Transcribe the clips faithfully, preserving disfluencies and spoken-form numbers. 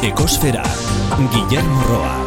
Ekosfera, Guillermo Roa.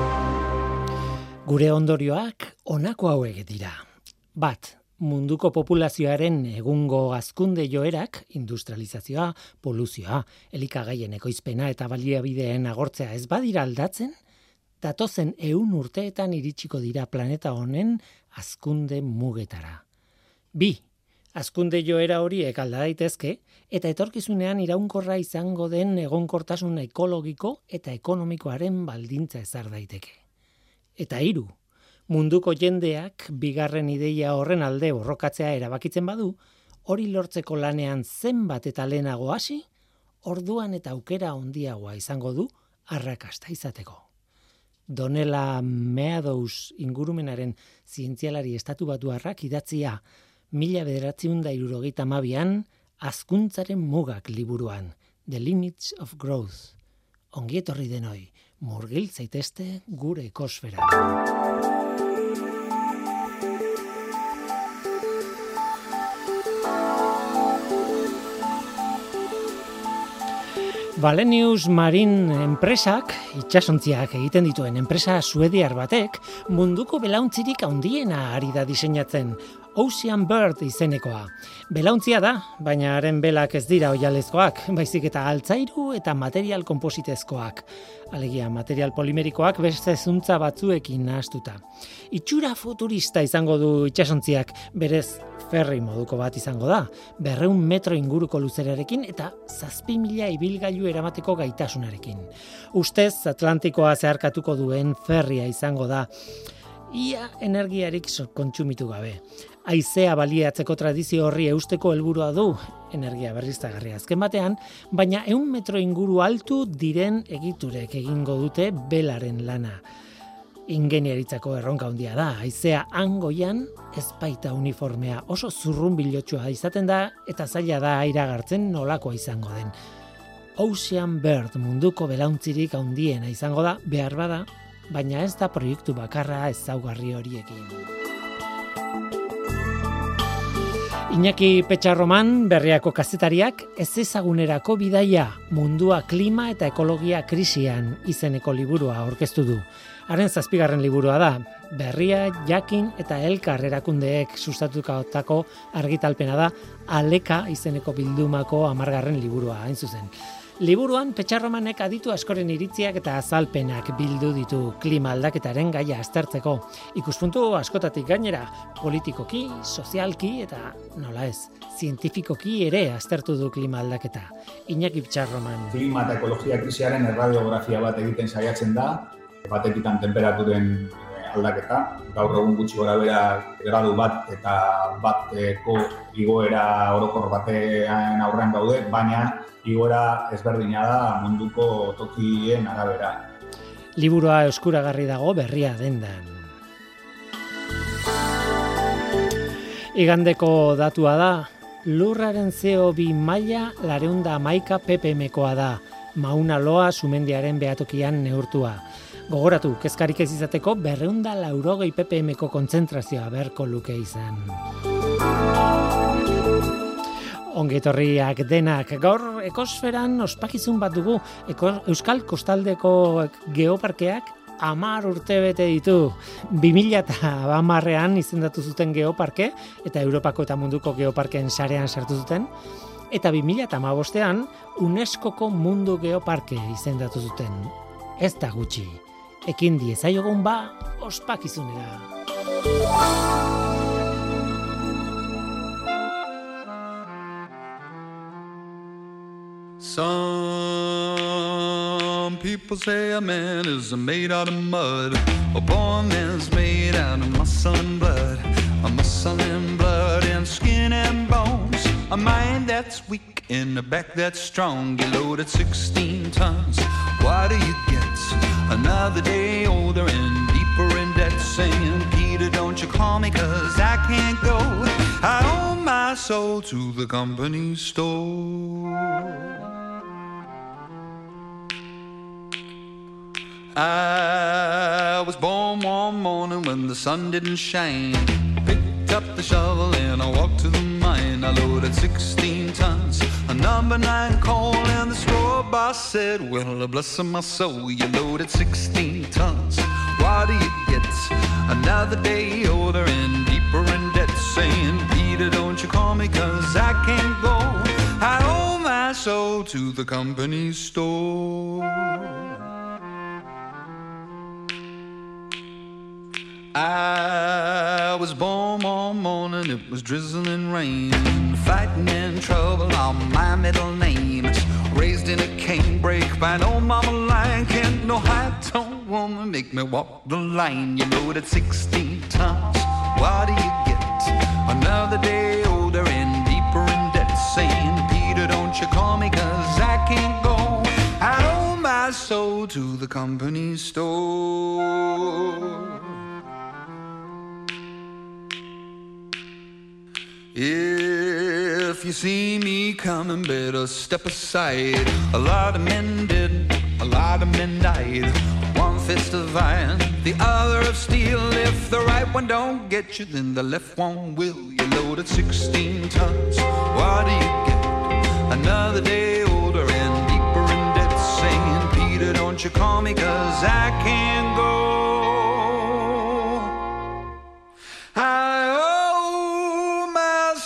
Gure ondorioak honako hauek dira. Bat, munduko populazioaren egungo hazkunde joerak, industrializazioa, poluzioa, elikagaien ekoizpena eta baliabideen agortzea ez badira aldatzen, datozen ehun urteetan iritsiko dira planeta honen hazkunde mugetara. Bi, hazkunde joera horiek alda daitezke eta etorkizunean iraunkorra izango den egonkortasun ekologiko eta ekonomikoaren baldintza ezar daiteke. Eta hiru, munduko jendeak bigarren ideia horren alde borrokatzea erabakitzen badu, hori lortzeko lanean zenbat eta lehenago hasi, orduan eta aukera handiagoa izango du arrakasta izateko. Donella Meadows ingurumenaren zientzialari estatu batuarrak idatzia mila bederatziehun eta hirurogeita hamabian hazkuntzaren mugak liburuan, The Limits of Growth. Ongi etorri denoi, murgil zaitezte gure ekosfera. Wallenius Marine enpresak, itsasontziak egiten dituen enpresa suediar batek, munduko belauntzirik handiena ari da diseinatzen, Ocean Bird izenekoa. Belauntzia da, baina haren belak ez dira oihalezkoak, baizik eta altzairu eta material konpositezkoak. Alegia, material polimerikoak beste zuntza batzuekin nahastuta. Itxura futurista izango du itsasontziak, berez ferri moduko bat izango da, berreun metro inguruko luzerarekin eta zazpi mila ibilgailu eramateko gaitasunarekin. Ustez Atlantikoa zeharkatuko duen ferria izango da, ia energiarik kontsumitu gabe. Haizea baliatzeko tradizio horri eusteko helburua du, energia berriztagarria azken batean, baina ehun metro inguru altu diren egiturek egingo dute belaren lana. Ingeniaritzako erronka handia da, haizea hangoian ez baita uniformea, oso zurrunbilotsua izaten da eta zaila da iragartzen nolakoa izango den. Ocean Bird munduko belauntzirik handiena izango da, behar bada, baina ez da proiektu bakarra ezaugarri horiekin. Iñaki Petxarroman, Berriako kazetariak, ez ezagunerako bidaia, mundua klima eta ekologia krisian izeneko liburua aurkeztu du. Haren zazpigarren liburua da, Berria, Jakin eta Elkar erakundeek sustatutako argitalpena da, Aleka izeneko bildumako hamargarren liburua, hain zuzen. Liburuan Petxarromanek aditu askoren iritziak eta azalpenak bildu ditu klima aldaketaren gaia aztertzeko. Ikuspuntu askotatik gainera, politikoki, sozialki eta, nola ez, zientifikoki ere aztertu du klima aldaketa. Iñaki Petxarroman. Klima eta ekologia krisiaren erradiografia bat egiten saiatzen da, batekitan temperaturen aldaketa, gaur egun gutxi gorabehera gradu bat eta bateko igoera orokor batean aurrean gaude, baina igoera ezberdina da munduko tokien arabera. Liburua eskuragarri dago Berria dendan. Igandeko datua da, lurraren C O bi maila laurehun eta hamaika ppmkoa da, Mauna Loa sumendiaren behatokian neurtua. Gogoratu, kezkarik ez izateko berrehun eta laurogei ppmko kontzentrazioa beharko luke izan. Ongetorriak denak, gaur ekosferan ospakizun bat dugu, Eko, Euskal Kostaldeko geoparkeak hamar urte bete ditu. bi mila hamarrean izendatu zuten geoparke, eta Europako eta munduko geoparkeen sarean sartu zuten, eta bi mila hamabostean UNESCOko mundu geoparke izendatu zuten. Ez da gutxi, ekin diezaiogun ba ospakizunera. Some people say a man is made out of mud. A poor man's made out of muscle and blood. A muscle and blood and skin and bones. A mind that's weak and a back that's strong. You loaded sixteen tons. What do you get? Another day older and deeper in debt. Saying, Peter, don't you call me, cause I can't go. I owe my soul to the company store. I was born one morning when the sun didn't shine. Picked up the shovel and I walked to the mine. I loaded sixteen tons, a number nine coal, and the straw bar said, well, bless my soul, you loaded sixteen tons. What do you get? Another day older and deeper in debt. Saying, Peter, don't you call me, cause I can't go. I owe my soul to the company store. I was born one morning, it was drizzling rain. Fighting in trouble on my middle name. Raised in a canebrake by an old mama lion. Can't no high-tone woman make me walk the line. You loaded sixteen tons, what do you get? Another day older and deeper in debt. Saying, Peter, don't you call me, cause I can't go. I owe my soul to the company store. If you see me coming, better step aside. A lot of men did, a lot of men died. One fist of iron, the other of steel. If the right one don't get you, then the left one will. You loaded sixteen tons, what do you get? Another day older and deeper in debt. Saying, Peter, don't you call me, cause I can't go. I owe my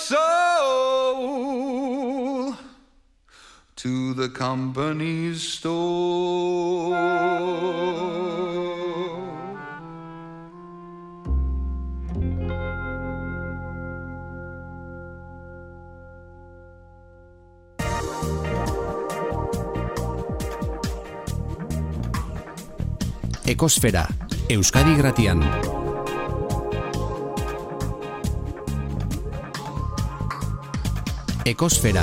soul to the company store. Ekosfera, Euskadi Irratian. Ekosfera.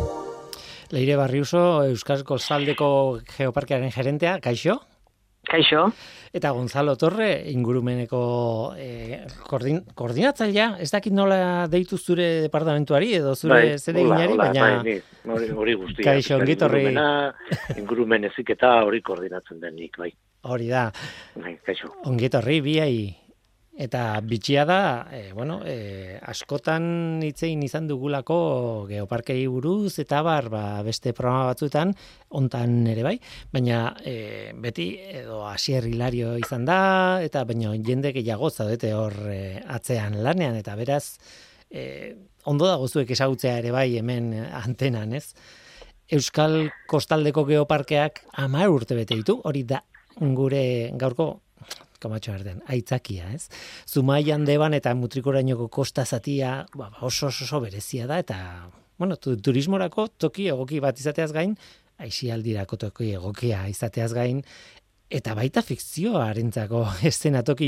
Leire Barriuso, Euskal Kostaldeko Geoparkearen gerentea, kaixo? Kaixo. Eta Gonzalo Torre, ingurumeneko eh, koordin, koordinatzailea, ez dakit nola deitu zure departamentuari edo zure bai, zereginari, hola, baina... Bai, hori, hori guztia. Kaixo, ongi torri. Ingurumen eziketa hori koordinatzen denik, bai. Hori da. Bai, kaixo. Ongi torri, biai. Eta bitxia da, e, bueno, e, askotan hitzein izan dugulako geoparkei buruz, eta bar, ba, beste programa batzuetan, hontan ere bai, baina e, beti edo Asier Hilario izan da, eta baina jende gehiago zaudete hor e, atzean lanean, eta beraz, e, ondo dago zuek ezagutzea ere bai hemen antenan, ez? Euskal Kostaldeko Geoparkeak hamar urte bete ditu, hori da gure gaurko kamatxo erden, aitzakia, ez? Zumaian Deban eta Mutrikurainoko kosta zatia ba, oso, oso oso berezia da, eta bueno, turismorako toki egoki bat izateaz gain, aisialdirako toki egokia izateaz gain, eta baita fikzioarentzako eszenatoki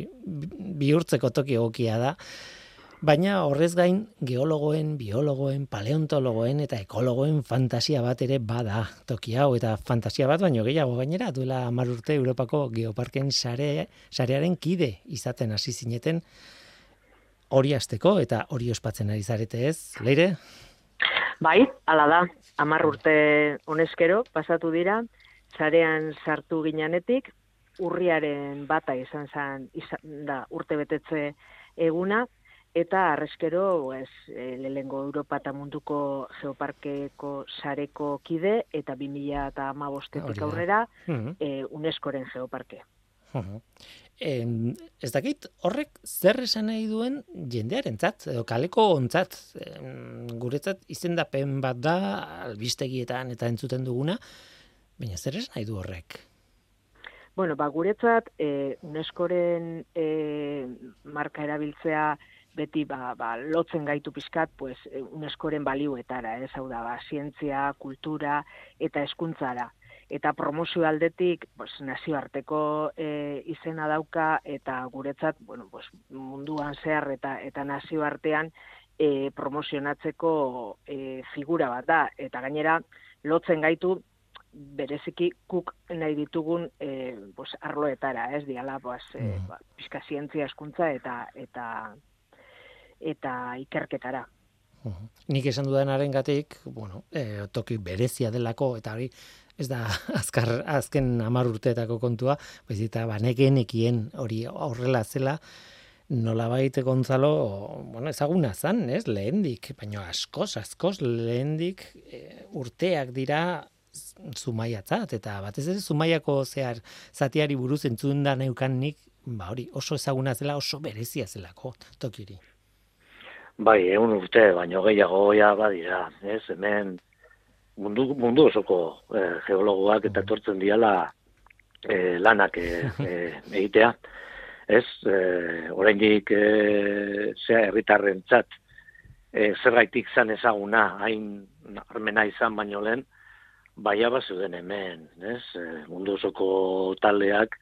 bihurtzeko toki egokia da, baina horrez gain geologoen, biologoen, paleontologoen eta ekologoen fantasia bat ere bada toki hau, eta fantasia bat baino gehiago gainera, duela hamar urte Europako Geoparken sare, sarearen kide izaten hasi zineten hori hasteko eta hori ospatzen ari zarete, ez, Leire? Bai, hala da, hamar urte honezkero pasatu dira, sarean sartu ginanetik, urriaren bata izan zen, izan da urte betetze eguna, eta arrezkero pues, lehengo Europa eta munduko geoparkeko sareko kide, eta bi mila hamabostetik aurrera uh-huh. e, UNESCOren geoparke. Uh-huh. Eh, ez dakit, horrek zer esan nahi duen jendearentzat, edo kaleko ontzat, eh, guretzat izendapen bat da, albistegietan eta entzuten duguna, baina zer esan nahi du horrek? Bueno, ba, guretzat eh, UNESCOren eh, marka erabiltzea beti ba, ba, lotzen gaitu pizkat pues, UNESCOren balioetara, ez hau da, ba, zientzia, kultura eta hezkuntzara. Eta promozio aldetik pues, nazioarteko e, izena dauka, eta guretzat bueno, pues, munduan zehar eta, eta nazioartean e, promozionatzeko e, figura bat da. Eta gainera, lotzen gaitu bereziki kuk nahi ditugun e, pues, arloetara, ez diala, pues, e, ba, pizka zientzia, hezkuntza eta eta eta ikerketara. Uh-huh. Nik esan dudaнаrengatik, bueno, eh, toki berezia delako, eta hori ez da azkar, azken hamar urteetako kontua, baizik eta banekenekien hori horrela zela, nolabait Gonzalo, bueno, ezaguna zan, ez, lehendik, baina askoz, askoz lehendik e, urteak dira Zumaiatzat, eta batez ere Zumaiako zehar zatiari buruz entzun da neukan nik, ba hori oso ezaguna zela, oso berezia zelako tokiri. Bai, egun urte, baino gehiago ja badira, ez, hemen mundu, mundu osoko eh, geologoak eta etortzen diala eh, lanak eh, eh, egitea, ez, eh, oraindik eh, zea herritarrentzat eh, zergaitik zan ezaguna, hain armena izan baino lehen, baia bazeuden hemen, ez, eh, mundu osoko taldeak,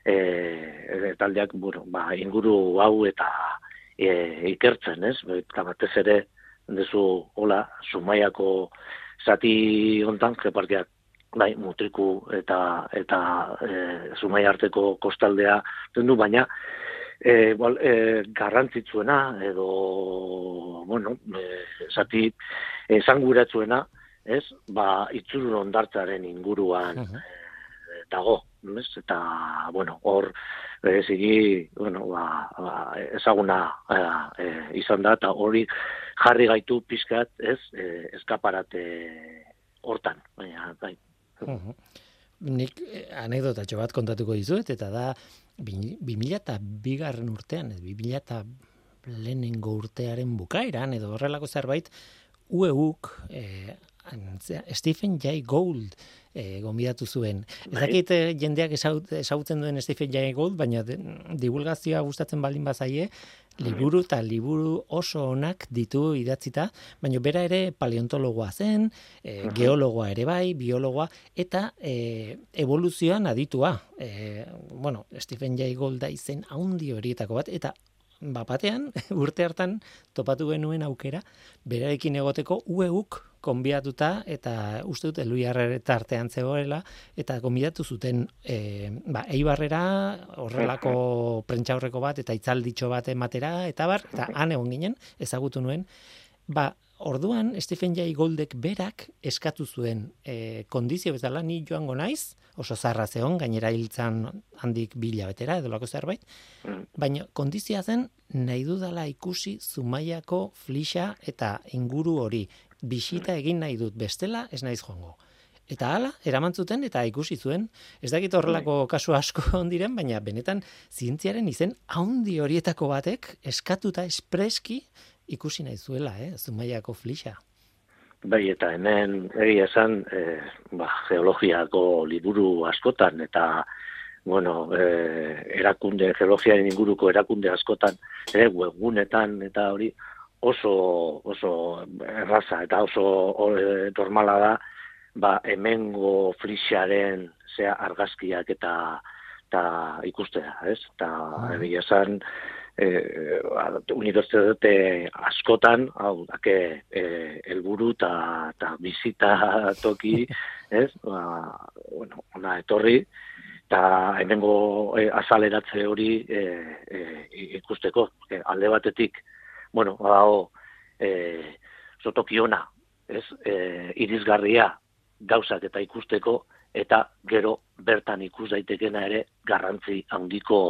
eh, taldeak bueno, ba, inguru hau eta E, ikertzen, ez? Eta batez ere, dezu, hola, Zumaiako zati hontan, geparkiak, bai, Mutriku eta eta e, Zumaia arteko kostaldea du, baina e, bol, e, garrantzitsuena edo, bueno, e, zati esanguratsuena, ez? Ba, Itzurun hondartzaren inguruan uh-huh. e, dago, ez? Eta, bueno, hor, bereziki, bueno, ba, ba, ezaguna e, izan da, eta hori jarri gaitu pizkat, ez, e, eskaparate hortan, baina, bai. Uh-huh. Nik eh, anekdotatxo bat kontatuko dizuet, eta da, bi mila eta bigarren urtean, bi mila eta lehenengo urtearen bukaeran, edo horrelako zerbait, U E Uk, eh, Stephen Jay Gould eh, gonbidatu zuen. Ez dakit eh, jendeak ezagutzen duen Stephen Jay Gould, baina de, divulgazioa gustatzen baldin bazaie, liburu eta liburu oso onak ditu idatzita, baina bera ere paleontologoa zen, eh, uh-huh. geologoa ere bai, biologoa, eta eh, evoluzioan aditua. Eh, bueno, Stephen Jay Gould da izen haundi horietako bat, eta bapatean, urte hartan topatu genuen aukera, berarekin egoteko U E Uk konbidatuta, eta uste dut Eluiarre tartean zegoela, eta konbidatu zuten e, ba, Eibarrera horrelako prentsaurreko bat, eta itzalditxo bat ematera, eta bar, eta han egon ginen, ezagutu nuen, ba, orduan Stephen Jay Gouldek berak eskatu zuen e, kondizio bezala ni joango naiz, oso zarra zeon, gainera hiltzan handik bila betera, edo lako zerbait, baina kondizioa zen nahi dudala ikusi Zumaiako flixa eta inguru hori, bisita egin nahi dut, bestela ez naiz joango. Eta hala, eraman zuten eta ikusi zuen, ez dakit horrelako kasu asko ondiren, baina benetan zientziaren izen haundi horietako batek eskatuta espreski ikusi nahi zuela, eh, Zumaiako flixa. Bai, eta hemen egia esan, eh, ba, geologiako liburu askotan, eta, bueno, eh, erakunde, geologiaren inguruko erakunde askotan, eh, webgunetan, eta hori oso, oso erraza, eta oso eh, normala da, ba, hemengo flixaren zea argazkiak eta, eta ikustea, ez? Eta egia esan, Eh, unibertsitate askotan, hau, dake, eh, elburu eta bizita toki, ez? Ba, bueno, ona etorri, eta hemengo eh, azaleratze hori eh, eh, ikusteko. Eh, alde batetik, bueno, hau, eh, zotokiona, ez? Eh, irisgarria gauzak eta ikusteko, eta gero bertan ikus daitekena ere garrantzi handiko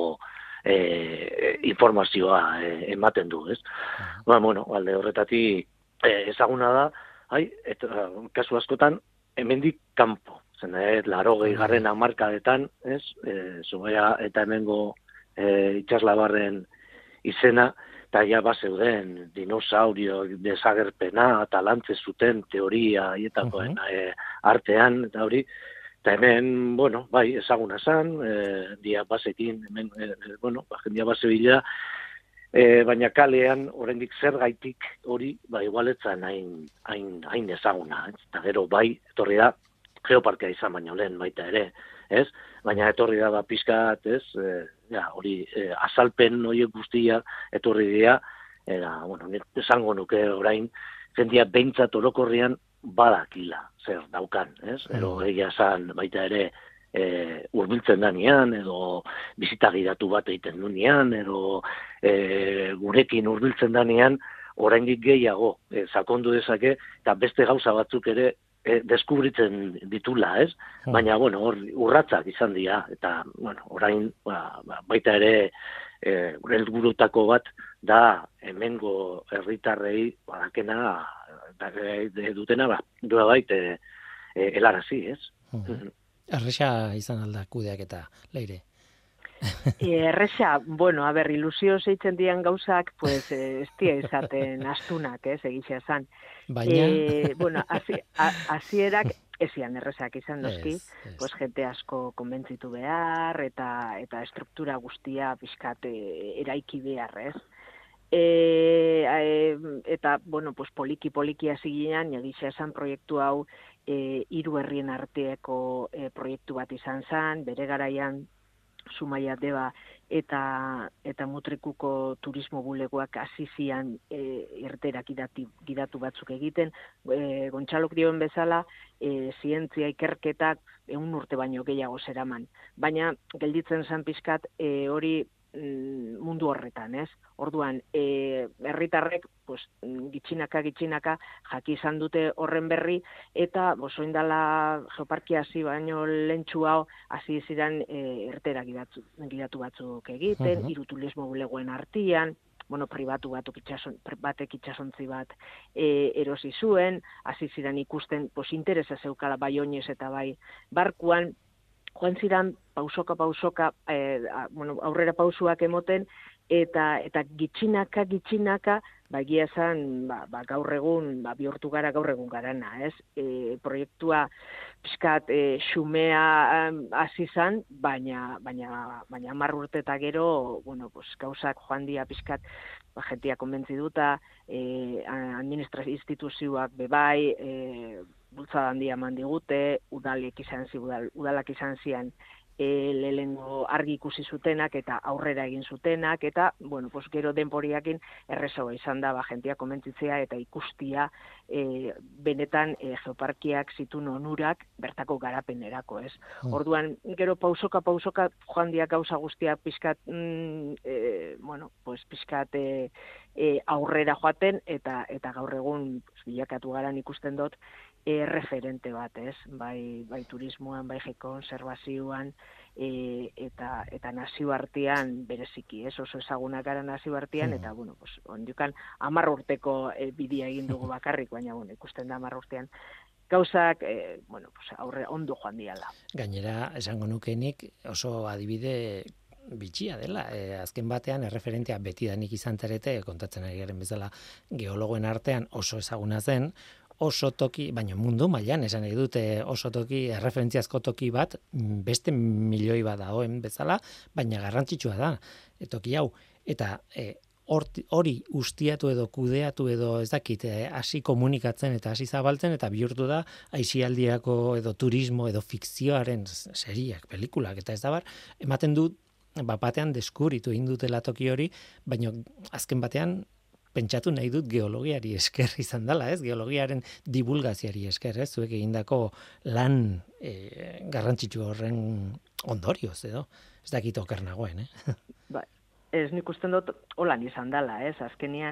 E, informazioa e, ematen du, ez? Uh-huh. Ba, bueno, alde horretatik e, ezaguna da, hai, eta kasu askotan hemendik kanpo, zen, eh, larogei garren hamarkadetan, ez? E, Zumaia eta hemengo e, itxaslabarren izena, eta ja bazeuden dinosaurio desagerpena, eta lantze zuten teoria hietakoen uh-huh. e, artean, eta hori, eta hemen, bueno, bai, ezaguna zan, e, dia basekin, hemen, e, bueno, ba, jendia base bila, e, baina kalean, oraindik zer gaitik hori, ba, igualetzan hain, hain, hain ezaguna, ez? Eta gero, bai, etorri da, geoparkea izan baino lehen baita ere, ez? Baina etorri da, ba, pizkat, ez? E, ja, hori, e, azalpen horiek guztia, etorri dira, eta, bueno, esango nuke orain, jendia behintzat orokorrian, badakila zer daukan, ez? Ero egia esan baita ere e, urbiltzen danean, edo bizita gidatu bat egiten dunean, edo e, gurekin urbiltzen danean, oraindik gehiago e, sakondu dezake, eta beste gauza batzuk ere e, deskubritzen ditula, ez? Baina, bueno, hor, urratzak izan dira, eta, bueno, orain ba, baita ere e, helburutako bat da hemengo herritarrei badakena da, dutena, ba, dura baita, e, helarazi, ez? Uh-huh. Erresa izan alda kudeak eta leire. Erresa, bueno, a ber, ilusio zeitzen dian gauzak, pues, ez dia izaten astunak, ez, egitea zan. Baina... E, bueno, hasierak ezian errezak izan noski, ez, ez. pues, jente asko konbentzitu behar, eta eta estruktura guztia pixkat eraiki behar, ez? E, e, eta, bueno, pues, poliki-poliki hasi ginen, egitea zan proiektu hau e, hiru herrien arteeko e, proiektu bat izan zan, bere garaian Zumaia Deba eta eta Mutrikuko turismo bulegoak hasi zian e, irterak gidati, gidatu batzuk egiten, e, Gontxalok dioen bezala, e, zientzia ikerketak ehun urte baino gehiago zeraman. Baina gelditzen zan pizkat e, hori mm, mundu horretan, ez? Orduan, e, herritarrek pues, gitxinaka gitxinaka jaki izan dute horren berri, eta osoindala geoparkia hasi baino lentsu hau hasi ziren e, irtera gidatu, gidatu batzuk egiten, hiru uh-huh. turismo bulegoen artean, bueno, pribatu batuk itxason, batek itxasontzi bat e, erosi zuen, hasi ziren ikusten pues, interesa zeukala bai oinez eta bai barkuan, joan ziren pausoka pausoka e, a, bueno, aurrera pausuak emoten, eta eta gitxinaka gitxinaka ba egia esan ba, ba gaur egun ba bihurtu gara gaur egun garana, ez? E, proiektua pizkat e, xumea hasi izan, baina baina baina hamar urte eta gero, bueno, pues gauzak joan dira pizkat ba jentia konbentziduta, eh administrazio instituzioak bebai, eh bultzada handia eman digute, udalek izan zi udal, udalak izan zian E, lehengo argi ikusi zutenak eta aurrera egin zutenak, eta, bueno, pues, gero denporiakin errezoa izan da, ba, jentia komentzitzea eta ikustia e, benetan e, geoparkiak zituen onurak bertako garapenerako, ez? Hmm. Orduan, gero pausoka pausoka joan dia gauza guztia pizkat, mm, e, bueno, pues, pizkat e, e, aurrera joaten, eta eta gaur egun pues, bilakatu garan ikusten dut, E, referente bat, ez? Bai, bai turismoan, bai konserbazioan, e, eta eta nazioartean bereziki, ez? Oso ezagunak gara nazioartean, eta, bueno, pues, ondukan hamar urteko e, bidea egin dugu bakarrik, baina, bueno, ikusten da hamar urtean gauzak, e, bueno, pues, aurre ondo joan diala. Gainera, esango nukenik oso adibide bitxia dela, e, azken batean erreferentea betidanik izan zarete, kontatzen ari garen bezala geologoen artean oso ezaguna zen, oso toki, baina mundu mailan esan nahi dute oso toki, erreferentziazko toki bat, beste milioi bat dagoen bezala, baina garrantzitsua da, e, toki hau. Eta e, hori ustiatu edo kudeatu edo ez dakit, hasi komunikatzen eta hasi zabaltzen, eta bihurtu da aisialdirako edo turismo edo fikzioaren seriak, pelikulak, eta ez da bar, ematen du, bat batean deskubritu egin dutela toki hori, baina azken batean, pentsatu nahi dut geologiari esker izan dela, ez? Geologiaren divulgaziari esker, ez? Zuek egindako lan e, garrantzitsu horren ondorioz, edo? Ez dakit oker nagoen, eh? Ba, ez nik usten dut holan izan dela, ez? Azkenean,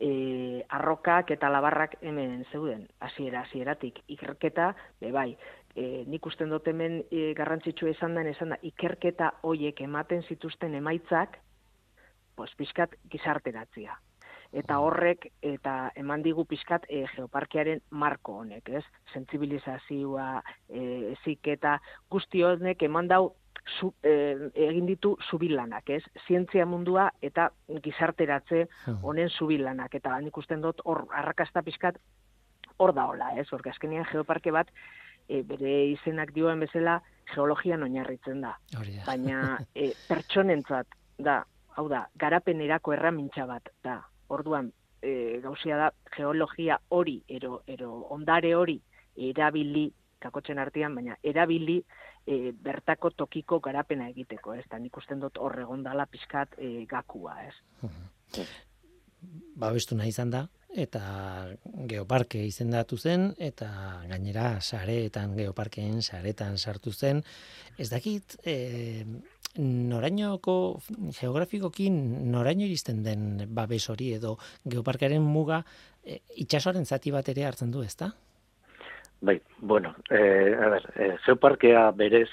e, arrokak eta labarrak hemen zeuden, hasiera hasieratik ikerketa, bebai, e, nik usten dut hemen e, garrantzitsua izan den, izan da, ikerketa hoiek ematen zituzten emaitzak, pues, pizkat gizarteratzea. Eta horrek, eta eman digu pizkat e, geoparkiaren marko honek, ez? Sentsibilizazioa, e, eziketa, guzti honek eman dau zu, e, egin ditu zubilanak, ez? Zientzia mundua eta gizarteratze honen zubilanak, eta nik usten dut hor arrakasta pizkat hor da hola, ez? Horke azkenean geoparke bat, e, bere izenak dioen bezala, geologian oinarritzen da. Baina e, pertsonentzat da, hau da, garapenerako erramintza bat da. Orduan, e, gauzia da, geologia hori, ero, ero ondare hori, erabili, kakotzen artean, baina erabili e, bertako tokiko garapena egiteko, ez? Da nik usten dut horregondala pizkat e, gakua, ez? Uh-huh. Babestu nahi izan da, eta geoparke izendatu zen, eta gainera sareetan, geoparkeen saretan sartu zen. Ez dakit... E, norainoko geografikoki noraino iristen den babes hori edo geoparkearen muga e, itsasoaren zati bat ere hartzen du, ezta? Bai, bueno, eh, a ver, eh, geoparkea berez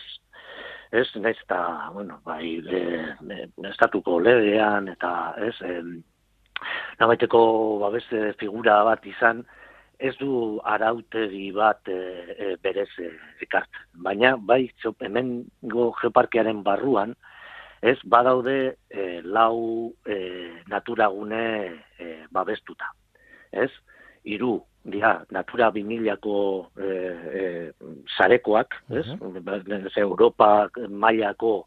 ez naiz eta, bueno, bai, eh, eh, estatuko legean eta ez, eh, nabaiteko babes figura bat izan, ez du arautegi bat e, e, berez e, ekartzen. Baina, bai, hemengo geoparkearen barruan, ez badaude e, lau e, naturagune e, babestuta. Ez? Hiru dira, Natura bi milako e, e, sarekoak, ez? Uh-huh. Europa mailako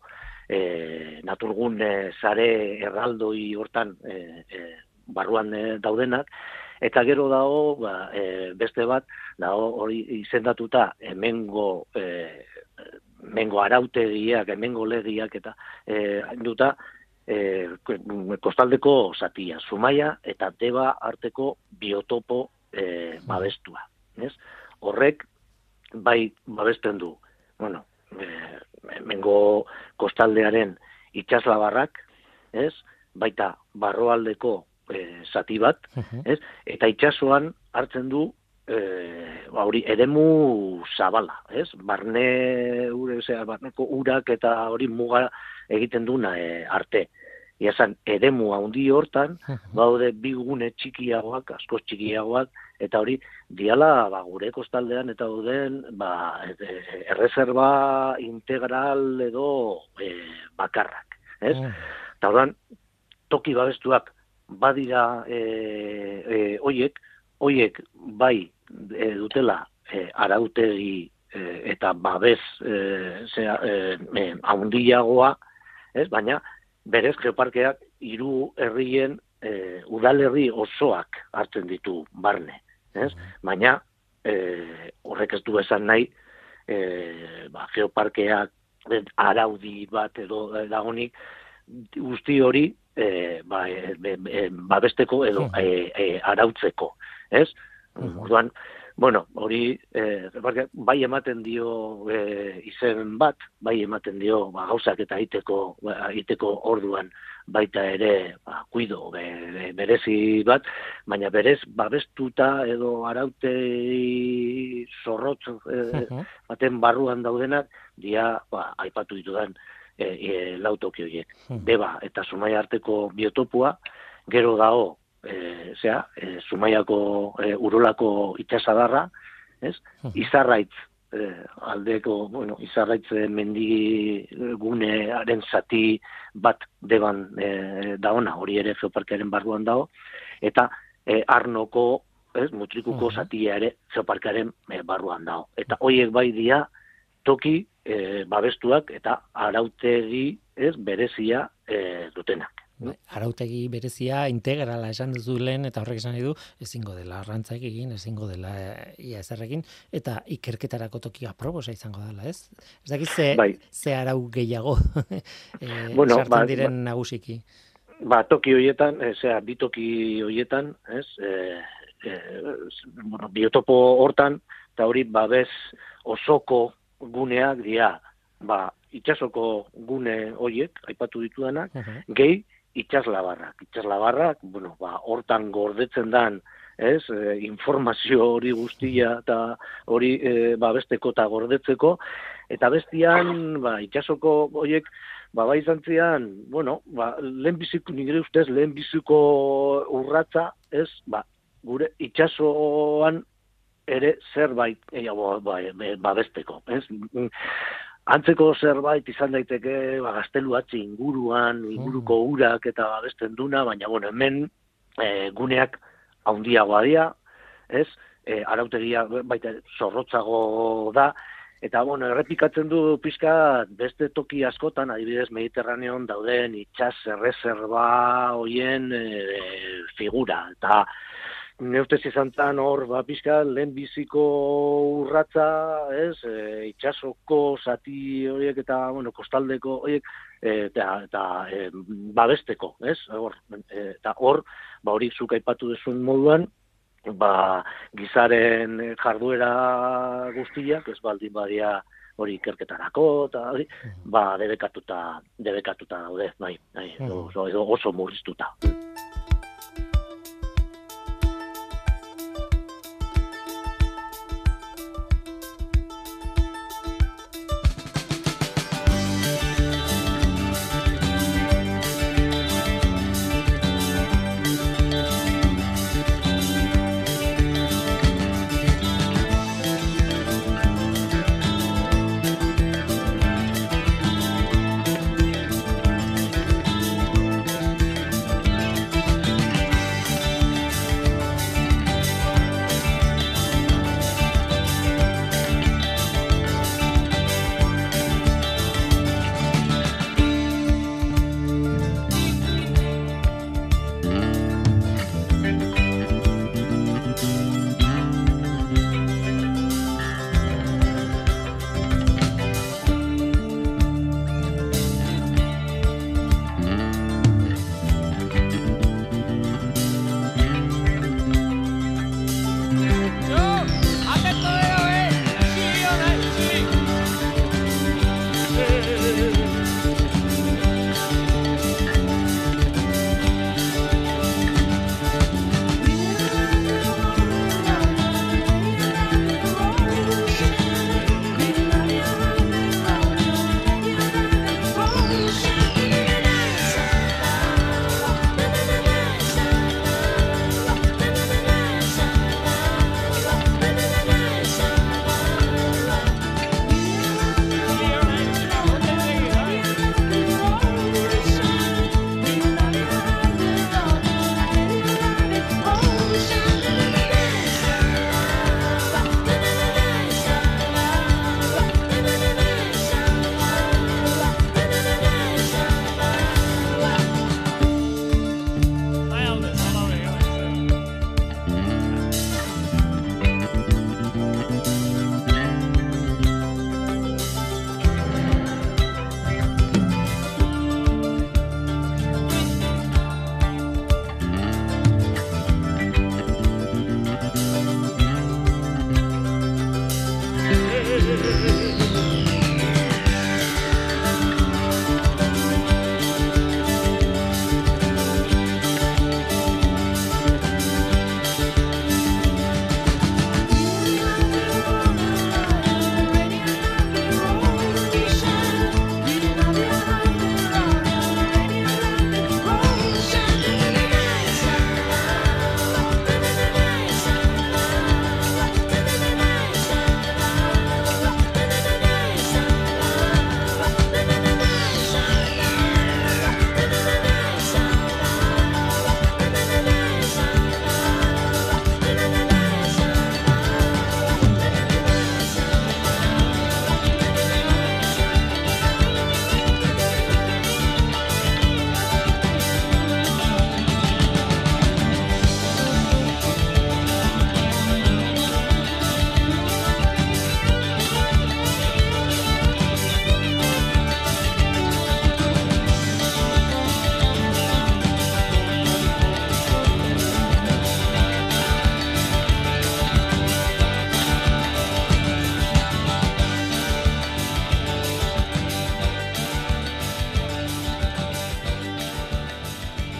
e, naturgune sare erraldoi hortan e, e, barruan e, daudenak, eta gero dago, ba, e, beste bat, dago hori izendatuta hemengo e, hemengo arautegiak, hemengo legiak eta e, duta e, kostaldeko zatia, Zumaia eta Deba arteko biotopo e, babestua. Ez? Horrek bai babesten du, bueno, e, hemengo kostaldearen itsaslabarrak, ez? Baita barroaldeko E, zati bat, uh-huh. ez? Eta itsasoan hartzen du e, ba, hori eremu zabala, ez? Barne ure, osea, barneko urak eta hori muga egiten duna e, arte. Iazan, eremu handi hortan, uh-huh. baude bi gune txikiagoak, asko txikiagoak, eta hori diala ba, gure kostaldean eta dauden ba, e, erreserba integral edo e, bakarrak, ez? Uh-huh. Eta horren, toki babestuak badira e, e, oiek, oiek bai e, dutela e, arautegi e, eta babes e, zera, e, haundiagoa, ez? Baina berez geoparkeak hiru herrien e, udalerri osoak hartzen ditu barne, ez? Baina e, horrek ez du esan nahi e, ba, geoparkeak araudi bat edo dagonik guzti hori E, ba, e, e, babesteko edo e, e, arautzeko, ez? Orduan, bueno, hori e, bai ematen dio e, izen bat, bai ematen dio ba, gauzak eta egiteko egiteko orduan baita ere ba, kuido be, be, berezi bat, baina berez babestuta edo arautei zorrotz e, baten barruan daudenak, dia ba, aipatu ditudan E, e, lautoki horiek. Hmm. Deba eta Zumaia arteko biotopua, gero dago, e, zera, e, Zumaiako e, urolako itsasadarra, ez? Hmm. Izarraitz, e, aldeko, bueno, Izarraitz mendigunearen zati bat Deban e, daona, hori ere geoparkearen barruan dago, eta e, Arnoko, ez, Mutrikuko hmm. zatia ere geoparkearen e, barruan dago. Eta horiek bai dia, toki e, babestuak eta arautegi ez berezia e, dutenak. No? Arautegi berezia integrala esan duzu lehen, eta horrek esan nahi du, ezingo dela arrantzak egin, ezingo dela ia ezerrekin, eta ikerketarako tokia proposa izango dela, ez? Ez dakiz ze, bai. ze arau gehiago e, bueno, sartzen ba, diren ba, nagusiki. Ba, toki horietan, zera, bi toki horietan, ez, e, e, bueno, biotopo hortan, eta hori babes osoko guneak dira, ba, itsasoko gune horiek, aipatu ditudanak, uh-huh. gehi itsaslabarrak. Itsaslabarrak, bueno, ba, hortan gordetzen dan, ez, e, informazio hori guztia eta hori e, ba, besteko eta gordetzeko, eta bestian, ba, itsasoko horiek, ba, bai zantzian, bueno, ba, lehenbiziko, nire ustez, lehenbiziko urratza, ez, ba, gure itsasoan ere zerbait eiago ba, babesteko, ez? Antzeko zerbait izan daiteke ba, gazteluatzi inguruan, inguruko urak eta babesten duna, baina bueno, hemen e, guneak haundiagoa dira, ez? E, arautegia baita zorrotzago da, eta bueno, errepikatzen du pixka beste toki askotan, adibidez Mediterraneon dauden itsas erreserba hoien e, figura, eta neurtez izan zan hor, ba, pixka, lehenbiziko urratza, ez, e, itsasoko zati horiek eta, bueno, kostaldeko horiek, e, eta, eta e, babesteko, ez, hor, e, eta hor, ba, hori zuk aipatu duzun moduan, ba, gizaren jarduera guztiak, ez baldin badia hori ikerketarako, eta hori, ba, debekatuta, debekatuta daude, bai, bai, oso, oso murriztuta.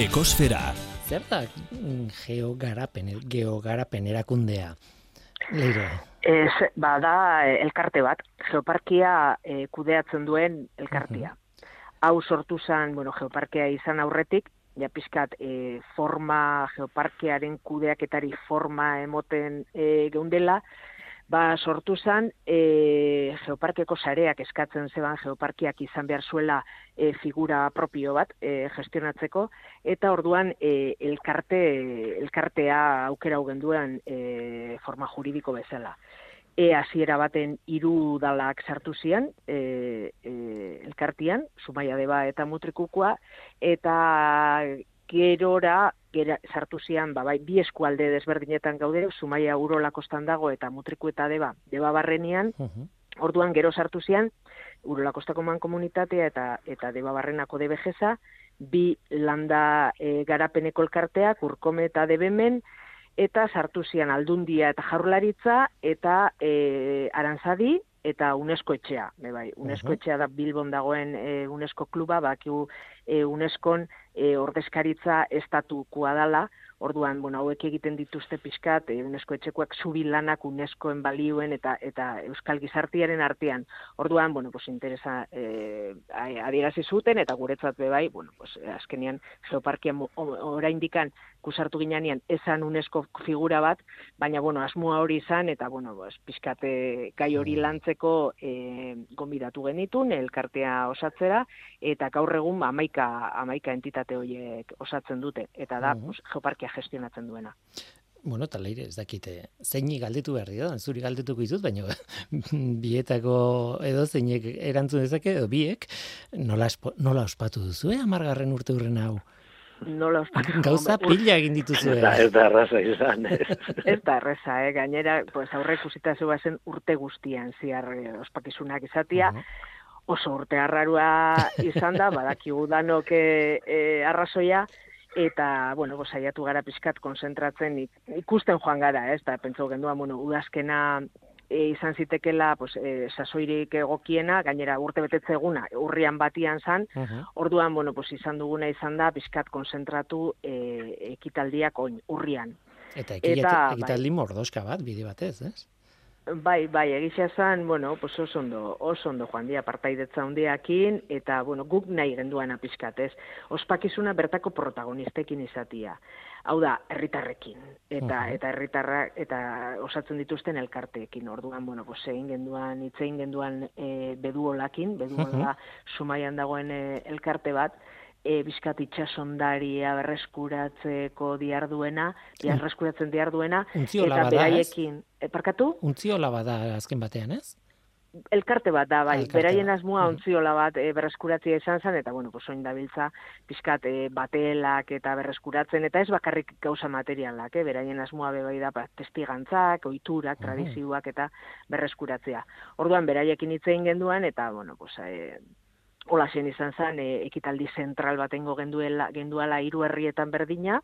Ekosfera. Zer da geogarapen, geogarapen erakundea? Leire. Ez, bada elkarte bat, geoparkia e, kudeatzen duen elkartia. Hau sortu zen, bueno, geoparkia izan aurretik, ja pizkat e, forma, geoparkearen kudeaketari forma emoten e, geundela, ba sortu zen e, geoparkeko sareak eskatzen zeban geoparkiak izan behar zuela e, figura propio bat e, gestionatzeko, eta orduan e, elkarte, elkartea aukera hau genduen e, forma juridiko bezala. E hasiera baten hiru udalak sartu zian e, e, elkartian, Zumaia Deba eta Mutrikukoa, eta gerora gera, sartu zian, ba, bai, bi eskualde desberdinetan gaude, Zumaia Urola kostan dago eta Mutriku eta Deba, Deba barrenean, uh-huh. Orduan gero sartu zian, Urola kostako mankomunitatea eta eta Deba barrenako debejeza, bi landa e, garapeneko elkarteak, Urkome eta Debemen, eta sartu zian Aldundia eta Jaurlaritza, eta e, Arantzadi, eta UNESCO etxea, bai, UNESCO etxea da Bilbon dagoen e, UNESCO kluba, bakiu e, UNESCOn e, ordezkaritza estatukoa dala, orduan, bueno, hauek egiten dituzte pixkat, e, UNESCO etxekoak zubilanak UNESCOen balioen eta eta Euskal Gizartiaren artean. Orduan, bueno, pues interesa e, adierazi zuten, eta guretzat be bai, bueno, pues azkenean geoparkia oraindikan kusartu ginean esan UNESCO figura bat, baina, bueno, asmoa hori izan, eta, bueno, pues, pixkate gai hori lantzeko e, gonbidatu genitun, elkartea osatzera, eta gaur egun amaika, amaika entitate horiek osatzen dute, eta da, uh-huh. pues, geoparkia gestionatzen duena. Bueno, eta Leire, ez dakite, zeini galdetu behar da, zuri galdetuko izut, baina bietako edo zeinek erantzun dezake, edo biek, nola, espo, nola ospatu duzu, eh, amargarren urte hurren hau? Nola ospatu. Gauza pila egin dituzu. Ez da, ez da erraza izan. Ez da erraza, eh? Gainera, pues, aurre ikusita zua zen urte guztian ziar ospakizunak izatia, uh-huh. Oso urte arrarua izan da, badakigu danok e, e, arrazoia, eta, bueno, saiatu gara pixkat konzentratzen ikusten joan gara, ez da, pentsau genduan, bueno, udazkena e, izan zitekela, pues, e, sasoirik egokiena, gainera urte betetze eguna, urrian batian zan, uh-huh. Orduan, bueno, pues, izan duguna izan da, pixkat konzentratu e, ekitaldiak oin, urrian. Eta, eta ekitaldi bai, mordoska bat, bide batez, ez? Bai, bai, egisa zan, bueno, pues oso ondo, oso ondo joan dia partaidetza hondiakin, eta, bueno, guk nahi genduan apizkatez. Ospakizuna bertako protagonistekin izatia. Hau da, herritarrekin, eta uh-huh. eta herritarrak, eta osatzen dituzten elkarteekin. Orduan, bueno, pues egin genduan, itzein genduan e, beduolakin, beduola uh-huh. Zumaian dagoen e, elkarte bat, E, bizkat itxasondaria berreskuratzeko diarduena, berreskuratzen diarduena, eta beraiekin, e, parkatu? Untziola bada azken batean, ez? Elkarte bat da, bai, beraien asmoa ontziola bat e, berreskuratzea izan zen, eta, bueno, pues, oin dabiltza, bizkat e, batelak eta berreskuratzen, eta ez bakarrik gauza materialak, eh? Beraien asmoa bebai da, ba, testigantzak, ohiturak, tradizioak eta berreskuratzea. Orduan, beraiekin hitzein genduan, eta, bueno, pues, e, hola zen izan zen, e, ekitaldi zentral batengo genduela, genduala hiru herrietan berdina,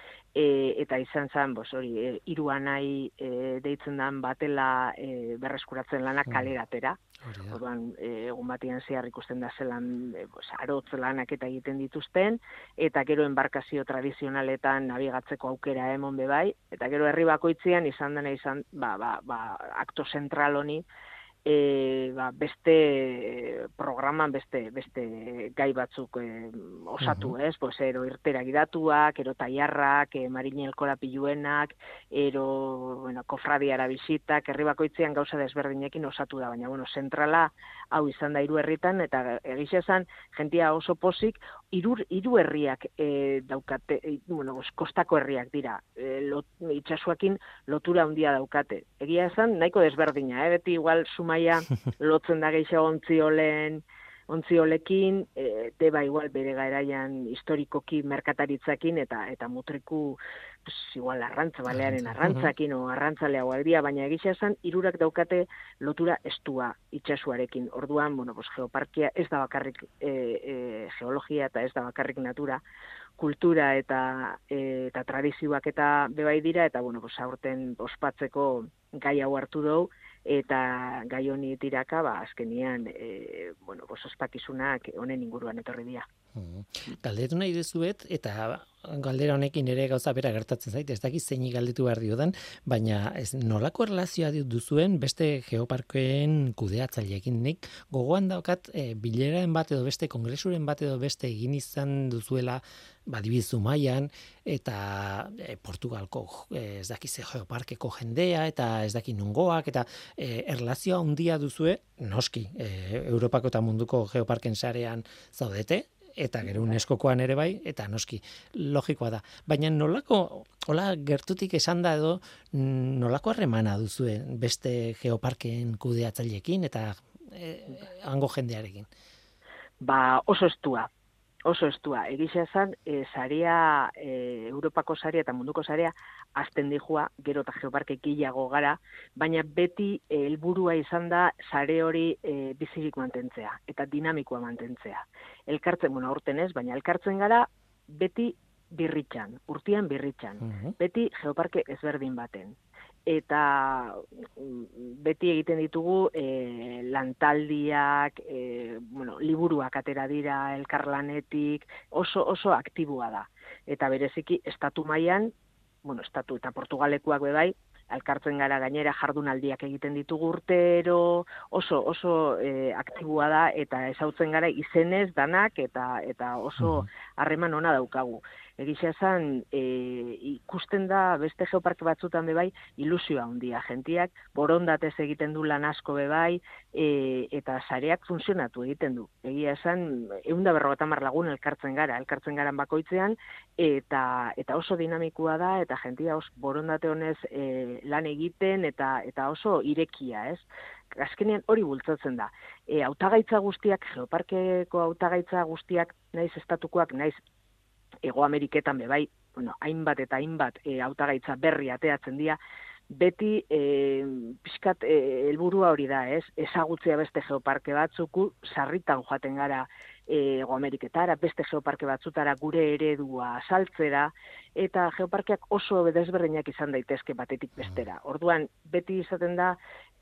e, eta izan zen, bos, hori, e, hiru anai e, deitzen dan batela e, berreskuratzen lanak kaleratera. Orduan, e, egun batian zehar ikusten da zelan, e, bos, arotz lanak eta egiten dituzten, eta gero enbarkazio tradizionaletan nabigatzeko aukera emon bebai, eta gero herri bakoitzean izan dena izan, ba, ba, ba, akto zentral honi, E, ba, beste programan beste beste gai batzuk e, osatu, uh-huh. ez? Pues ero irtera gidatuak, ero taiarrak, e, marinelkora piluenak, ero, bueno, kofradiara bisitak, herri bakoitzean gauza desberdinekin osatu da, baina, bueno, zentrala hau izan da hiru herritan, eta egixe esan, jentia oso pozik, hiru hiru herriak e, daukate, e, bueno, kostako herriak dira, e, lot, itxasuakin lotura handia daukate. Egia esan, nahiko desberdina, eh? Beti igual Zumaia lotzen da gehiago ontziolen, ontziolekin, e, Deba igual bere garaian historikoki merkataritzakin, eta eta Mutriku pues, igual arrantza, balearen arrantzakin, o arrantzalea gualdia, baina egisa esan, hirurak daukate lotura estua itxasuarekin. Orduan, bueno, pues, geoparkia ez da bakarrik e, e, geologia eta ez da bakarrik natura, kultura eta e, eta tradizioak eta bebai dira, eta, bueno, pues, aurten ospatzeko gai hau hartu dugu, eta gai honi tiraka, ba, azkenian, e, bueno, pues, ospakizunak honen inguruan etorri dira. Mm. Galdetu nahi dezuet, eta galdera honekin ere gauza bera gertatzen zait, ez dakit zeinik galdetu behar diodan, baina ez nolako erlazioa duzuen beste geoparkeen kudeatzaileekin. Nik gogoan daukat e, bileraen bat edo beste, kongresuren bat edo beste egin izan duzuela badibizu mailan eta e, Portugalko e, ez dakit ze geoparkeko jendea eta ez dakit nongoak eta e, erlazioa handia duzue, noski, e, Europako eta munduko geoparken sarean zaudete, eta gero UNESCOkoan ere bai, eta noski, logikoa da. Baina nolako, hola gertutik esan da edo, nolako harremana duzue beste geoparken kudeatzaileekin eta e, hango jendearekin? Ba, oso estua. Oso estua. Egia esan, e, sarea, e, Europako sarea eta munduko sarea azten dijua, gero eta geoparke gehiago gara, baina beti helburua izan da sare hori e, bizirik mantentzea eta dinamikoa mantentzea. Elkartzen, bueno, aurten ez, baina elkartzen gara beti birritxan, urtean birritxan, uh-huh. beti geoparke ezberdin baten. Eta beti egiten ditugu e, lantaldiak, e, bueno, liburuak atera dira elkarlanetik, oso oso aktibua da. Eta bereziki estatu mailan, bueno, estatu eta Portugalekuak be bai, elkartzen gara gainera jardunaldiak egiten ditugu urtero, oso oso e, aktibua da eta ezautzen gara izenez danak eta eta oso harreman ona daukagu. Egia esan, e, ikusten da beste geoparke batzutan be bai ilusioa handia, jentiak borondatez egiten du lan asko be bai, e, eta sareak funtzionatu egiten du. Egia esan, ehun eta berrogeita hamar lagun elkartzen gara, elkartzen garan bakoitzean, eta eta oso dinamikoa da, eta jentia oso borondate honez e, lan egiten, eta eta oso irekia, ez? Azkenean hori bultzatzen da. E, hautagaitza guztiak, geoparkeko hautagaitza guztiak, naiz estatukoak, naiz Ego Ameriketan be bai, bueno, hainbat eta hainbat e, hautagaitza berri ateatzen dira, beti e, pixkat e, helburua hori da, ez? Ezagutzea beste geoparke batzuku, sarritan joaten gara e, Ego Ameriketara, beste geoparke batzutara gure eredua saltzera, eta geoparkeak oso desberdinak izan daitezke batetik bestera. Orduan, beti izaten da,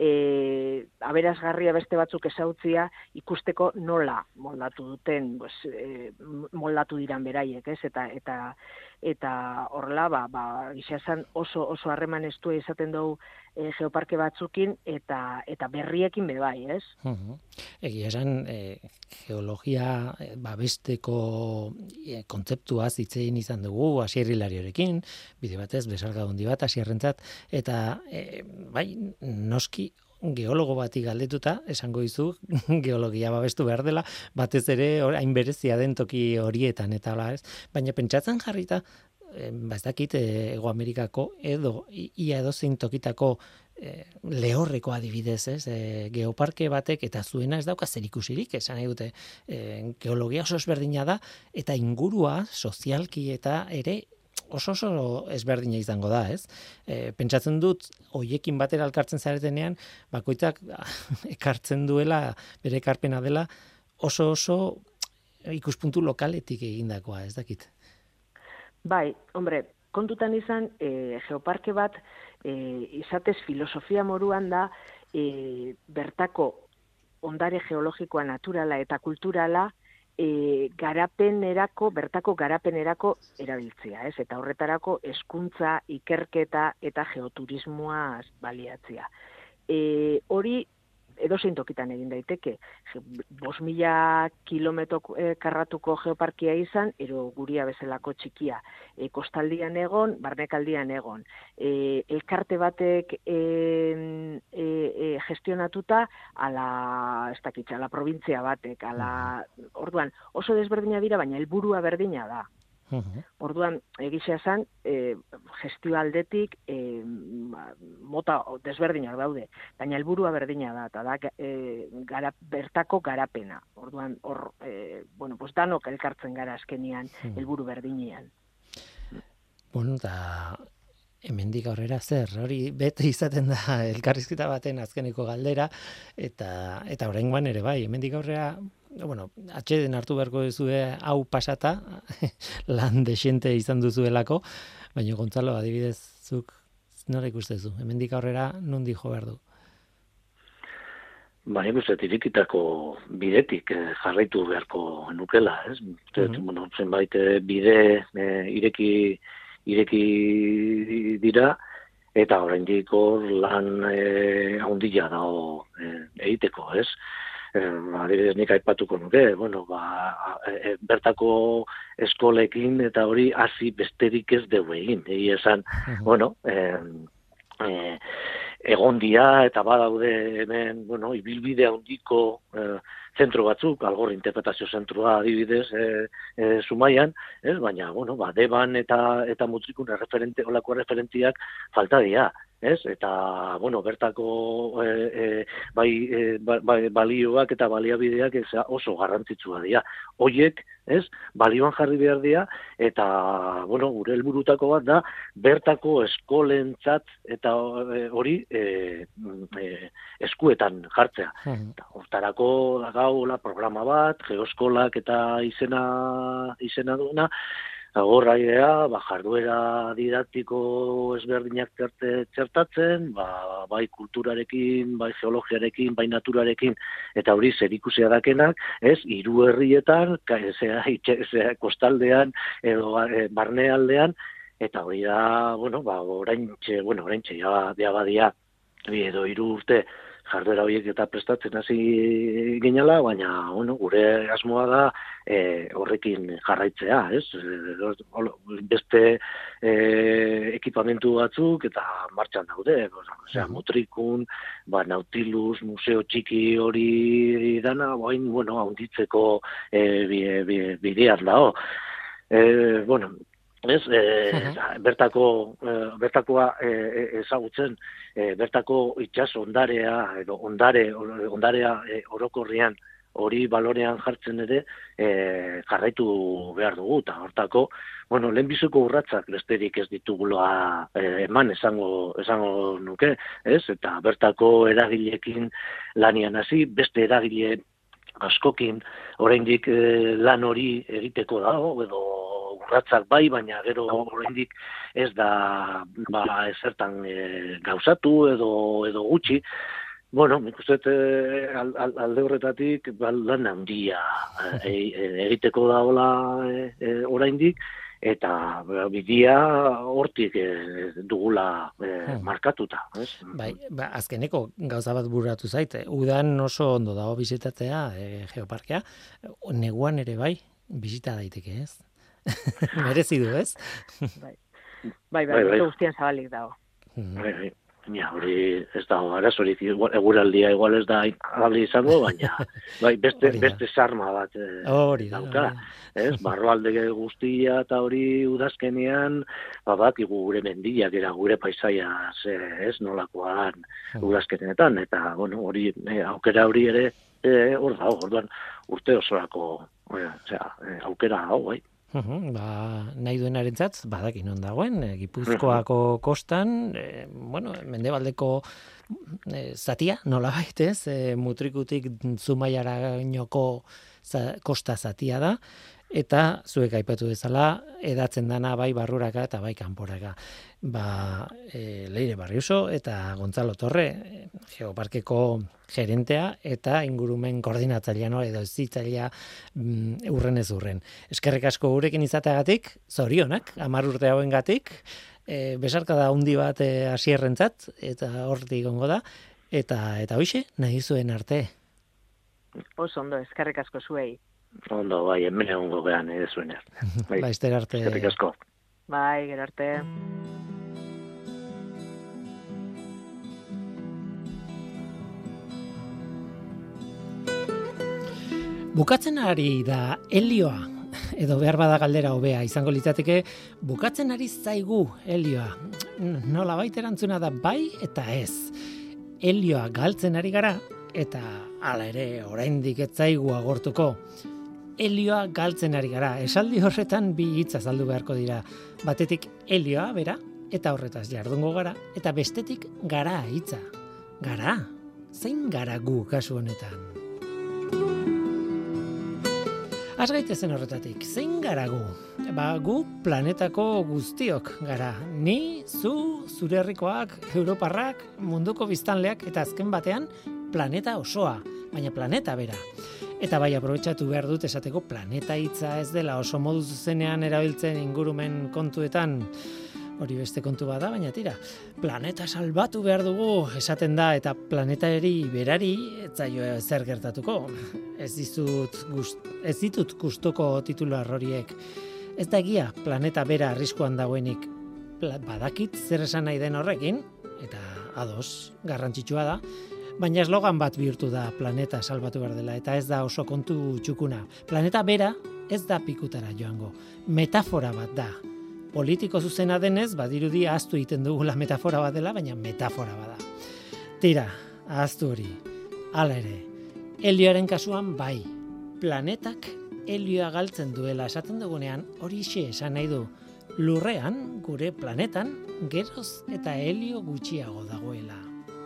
e, aberasgarria beste batzuk ezautzia ikusteko nola moldatu duten, pues, e, moldatu diran beraiek, ez? Eta eta eta horrela, ba, ba gizazan oso oso harreman estua izaten dugu e, geoparke batzukin eta eta berriekin be bai, ez? Uh-huh. Egia esan, e, geologia e, babesteko e, kontzeptuaz hitz egin izan dugu Asier Hilariorekin, bide batez besarka handi bat Asierrentzat, eta e, bai, noski geologo bati galdetuta, esango dizu geologia babestu behar dela, batez ere hain berezia den toki horietan, eta hola ez, baina pentsatzen jarrita, e, ba ez dakit, e, Ego Amerikako edo ia edozein tokitako e, lehorreko adibidez, ez, e, geoparke batek eta zuena ez dauka zerikusirik, esan nahi dute, e, geologia oso ezberdina da, eta ingurua sozialki eta ere oso oso ezberdina izango da, ez? E, pentsatzen dut, hoiekin batera elkartzen zaretenean, bakoitzak ekartzen duela, bere ekarpena dela, oso oso ikuspuntu lokaletik egindakoa, ez dakit? Bai, hombre, kontutan izan, e, geoparke bat, e, izatez filosofia moruan da, e, bertako ondare geologikoa naturala eta kulturala, E, garapenerako, bertako garapenerako erabiltzea, ez? Eta horretarako hezkuntza, ikerketa eta geoturismoa baliatzea. E, hori edozein tokitan egin daiteke. bost mila kilometro e, karratuko geoparkia izan, ero guria bezalako txikia. E, kostaldian egon, barnekaldian egon. E, elkarte batek e, e, e, gestionatuta ala, ez dakitza, ala provintzia batek, ala, orduan, oso desberdina dira, baina helburua berdina da. Uh-huh. Orduan, egizia esan, e, gestio aldetik e, mota desberdinak daude, baina helburua berdina da, eta da e, gara, bertako garapena. Orduan, hor, e, bueno, pues danok elkartzen gara azkenian, helburu berdinean. Bueno, eta hemendik aurrera zer, hori bete izaten da elkarrizketa baten azkeneko galdera, eta eta oraingoan ere bai, hemendik aurrera, bueno, atxeden hartu beharko duzue hau pasata, lan dexente izan duzuelako, baina Gontzalo, adibidez, zuk nola ikustezu, hemendik aurrera nondi jo behar du? ba, nik uste irikitako bidetik eh, jarraitu beharko nukela, ez? Mm-hmm. Bueno, zenbait bide eh, ireki, ireki dira, eta oraindik hor lan eh, handia dago eh, egiteko, ez? Eh, adibidez nik aipatuko nuke, bueno, ba, e, bertako eskolekin eta hori hasi besterik ez dugu egin. Egi esan, uh-huh. bueno, eh, eh, egon dia eta badaude hemen, bueno, ibilbide handiko eh, zentro batzuk, Algor interpretazio zentroa adibidez eh, eh, Zumaian, ez? Baina, bueno, ba, Deban eta eta Mutrikun referente, olako referentiak falta dira. Ez? Eta, bueno, bertako e, e, bai, e, bai, balioak eta baliabideak oso garrantzitsua dira. Hoiek, ez? Balioan jarri behar dira, eta, bueno, gure helburutako bat da, bertako eskolentzat eta hori e, e, eskuetan jartzea. Hmm. Hortarako dagau programa bat, geoskolak eta izena, izena duena, Agorra idea, ba, jarduera didaktiko ezberdinak txertatzen, ba, bai kulturarekin, bai geologiarekin, bai naturarekin, eta hori zerikusia dakenak, ez, hiru herrietan, zera, zera, kostaldean, edo e, barnealdean, eta hori da, bueno, ba, oraintxe, bueno, oraintxe, ja, ja badia, edo hiru urte, jarduera horiek eta prestatzen hasi ginela, baina, bueno, gure asmoa da e, horrekin jarraitzea, ez? Beste e, ekipamentu batzuk eta martxan daude, osea, Mutrikun, ba, Nautilus, museo txiki hori dana, bain, bueno, handitzeko e, bidean dago. E, bueno, Ez, e, uh-huh. bertako, e, bertakoa e, ezagutzen, e, bertako itsas ondarea, edo ondare, ondarea e, orokorrian hori balorean jartzen ere e, jarraitu behar dugu, eta hortako, bueno, lehenbiziko urratsak besterik ez ditugula e, eman esango, esango nuke, ez? Eta bertako eragileekin lanian hasi, beste eragile askokin oraindik e, lan hori egiteko dago, edo urratsak bai, baina gero oraindik ez da ba, ezertan e, gauzatu edo edo gutxi. Bueno, nik uste e, alde horretatik ba, lan handia e, e, egiteko dagoela e, e, oraindik, eta bidea hortik e, dugula e, hmm. markatuta. Ez? Bai, ba, azkeneko gauza bat bururatu zaite. Udan oso ondo dago bizitatzea e, geoparkea, neguan ere bai, bizita daiteke, ez? Merezi du, ez? Bai, bai, bai, bai, guztian zabalik dago. Bai, bai, ja, hori ez dago, arazorik, eguraldia igual ez da agabli izango, baina bai, beste, beste sarma bat e, dauka. Ez, barroalde guztia eta hori udazkenean, babak, gure mendiak, era gure paisaia, ez, nolakoan udazkenetan, eta, bueno, hori, e, aukera hori ere, e, hor dago, orduan, urte osorako, e, osea, e, aukera hau, bai. Uhum, ba, nahi duenarentzat badakin non dagoen, e, Gipuzkoako kostan, e, bueno, mendebaldeko e, zatia, nola baitez, e, Mutrikutik Zumaiarainoko za, kosta zatia da, eta zuek aipatu bezala edatzen dana bai barruraka eta bai kanporaka. Ba, e, Leire Barriuso eta Gontzalo Torre, Geoparkeko gerentea eta ingurumen koordinatzailean edo zitzailea mm, urren ez urren. Eskerrik asko gurekin izateagatik, zorionak, hamar urte hauengatik, e, besarkada handi bat hasierrentzat eta hortik gongo da, eta eta hoixe nahi zuen arte. Oso ondo, eskerrik asko zuei. Ondo, bai, hemen egongo behan ere zuen arte. Bai, Laizter arte. Eskerrik asko. Bai, gero arte. Bukatzen ari da helioa, edo behar bada galdera hobea izango litzateke, bukatzen ari zaigu helioa. Nola baita erantzuna da bai eta ez. Helioa galtzen ari gara, eta hala ere oraindik ez zaigu agortuko. Helioa galtzen ari gara. Esaldi horretan bi hitz azaldu beharko dira. Batetik helioa bera, eta horretaz jardungo gara, eta bestetik gara hitza. Gara? Zein gara gu kasu honetan? Az gaitezen horretatik, zein gara gu? Ba, gu planetako guztiok gara. Ni, zu, zure herrikoak, europarrak, munduko biztanleak eta azken batean planeta osoa, baina planeta bera. Eta bai, aprobetxatu behar dut esateko planeta hitza ez dela oso modu zuzenean erabiltzen ingurumen kontuetan, hori beste kontu bada, baina tira, planeta salbatu behar dugu esaten da, eta planetari berari ez zaio zer gertatuko. Ez ditut, gust, ez ditut gustuko titular horiek. Ez da egia planeta bera arriskuan dagoenik. Badakit zer esan nahi den horrekin, eta ados, garrantzitsua da, baina eslogan bat bihurtu da planeta salbatu behar dela, eta ez da oso kontu txukuna. Planeta bera ez da pikutara joango, metafora bat da. Politiko zuzena denez, badirudi ahaztu egiten dugula metafora bat dela, baina metafora bada. Tira, ahaztu hori. Hala ere, helioaren kasuan bai, planetak helioa galtzen duela esaten dugunean, hori xe esan nahi du, lurrean, gure planetan, geroz eta helio gutxiago dagoela.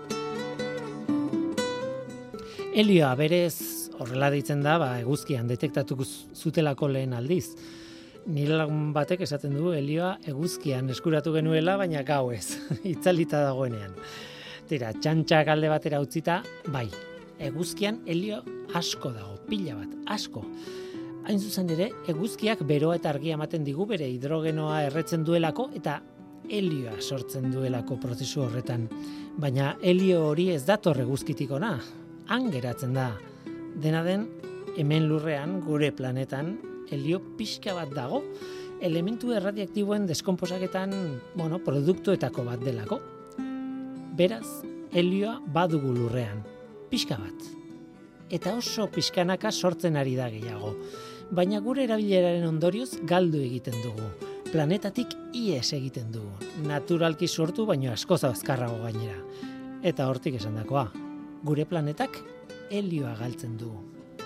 Helioa berez horrela deitzen da, ba, eguzkian detektatuko zutelako lehen aldiz. Nire lagun batek esaten du helioa eguzkian eskuratu genuela, baina gau ez, itzalita dagoenean. Tira, txantxak alde batera utzita, bai, eguzkian helio asko dago, pila bat, asko. Hain zuzen ere, eguzkiak beroa eta argia ematen digu bere hidrogenoa erretzen duelako eta helioa sortzen duelako prozesu horretan. Baina helio hori ez dator eguzkitik ona, han geratzen da. Dena den, hemen lurrean, gure planetan, helio pixka bat dago, elementu erradiaktiboen deskonposaketan, bueno, produktuetako bat delako. Beraz, helioa badugu lurrean, pixka bat. Eta oso pixkanaka sortzen ari da gehiago. Baina gure erabileraren ondorioz galdu egiten dugu. Planetatik ihes egiten dugu. Naturalki sortu, baino askoz azkarrago gainera. Eta hortik esandakoa, gure planetak helioa galtzen dugu.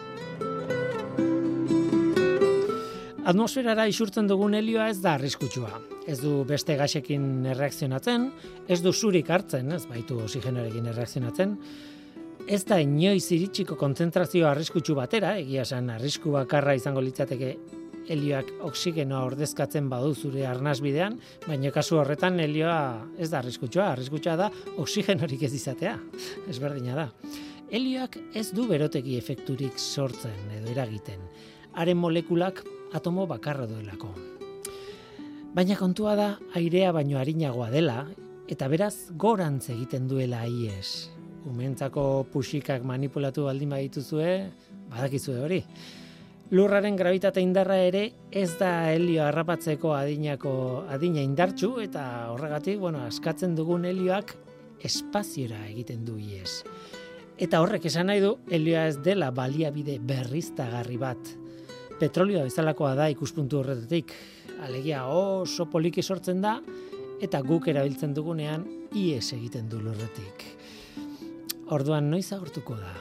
Atmosferara isurtzen dugun helioa ez da arriskutsua. Ez du beste gasekin erreakzionatzen, ez du zurik hartzen, ez baitu oxigenoarekin erreakzionatzen. Ez da inoiz iritsiko kontzentrazio arriskutsu batera, egia esan arrisku bakarra izango litzateke helioak oksigenoa ordezkatzen badu zure arnasbidean, baina kasu horretan helioa ez da arriskutsua, arriskutsua da oxigenorik ez izatea, ezberdina da. Helioak ez du berotegi efekturik sortzen edo eragiten, haren molekulak atomo bakarra duelako. Baina kontua da airea baino arinagoa dela, eta beraz gorantz egiten duela ihes. Umentzako puxikak manipulatu baldin badituzue, badakizue hori. Lurraren grabitate indarra ere ez da helio harrapatzeko adinako adina indartsu eta horregatik, bueno, askatzen dugun helioak espaziora egiten du ihes. Eta horrek esan nahi du helioa ez dela baliabide berriztagarri bat. Petrolioa bezalakoa da ikuspuntu horretatik. Alegia oso poliki sortzen da eta guk erabiltzen dugunean ihes egiten du lurretik. Orduan noiz agortuko da.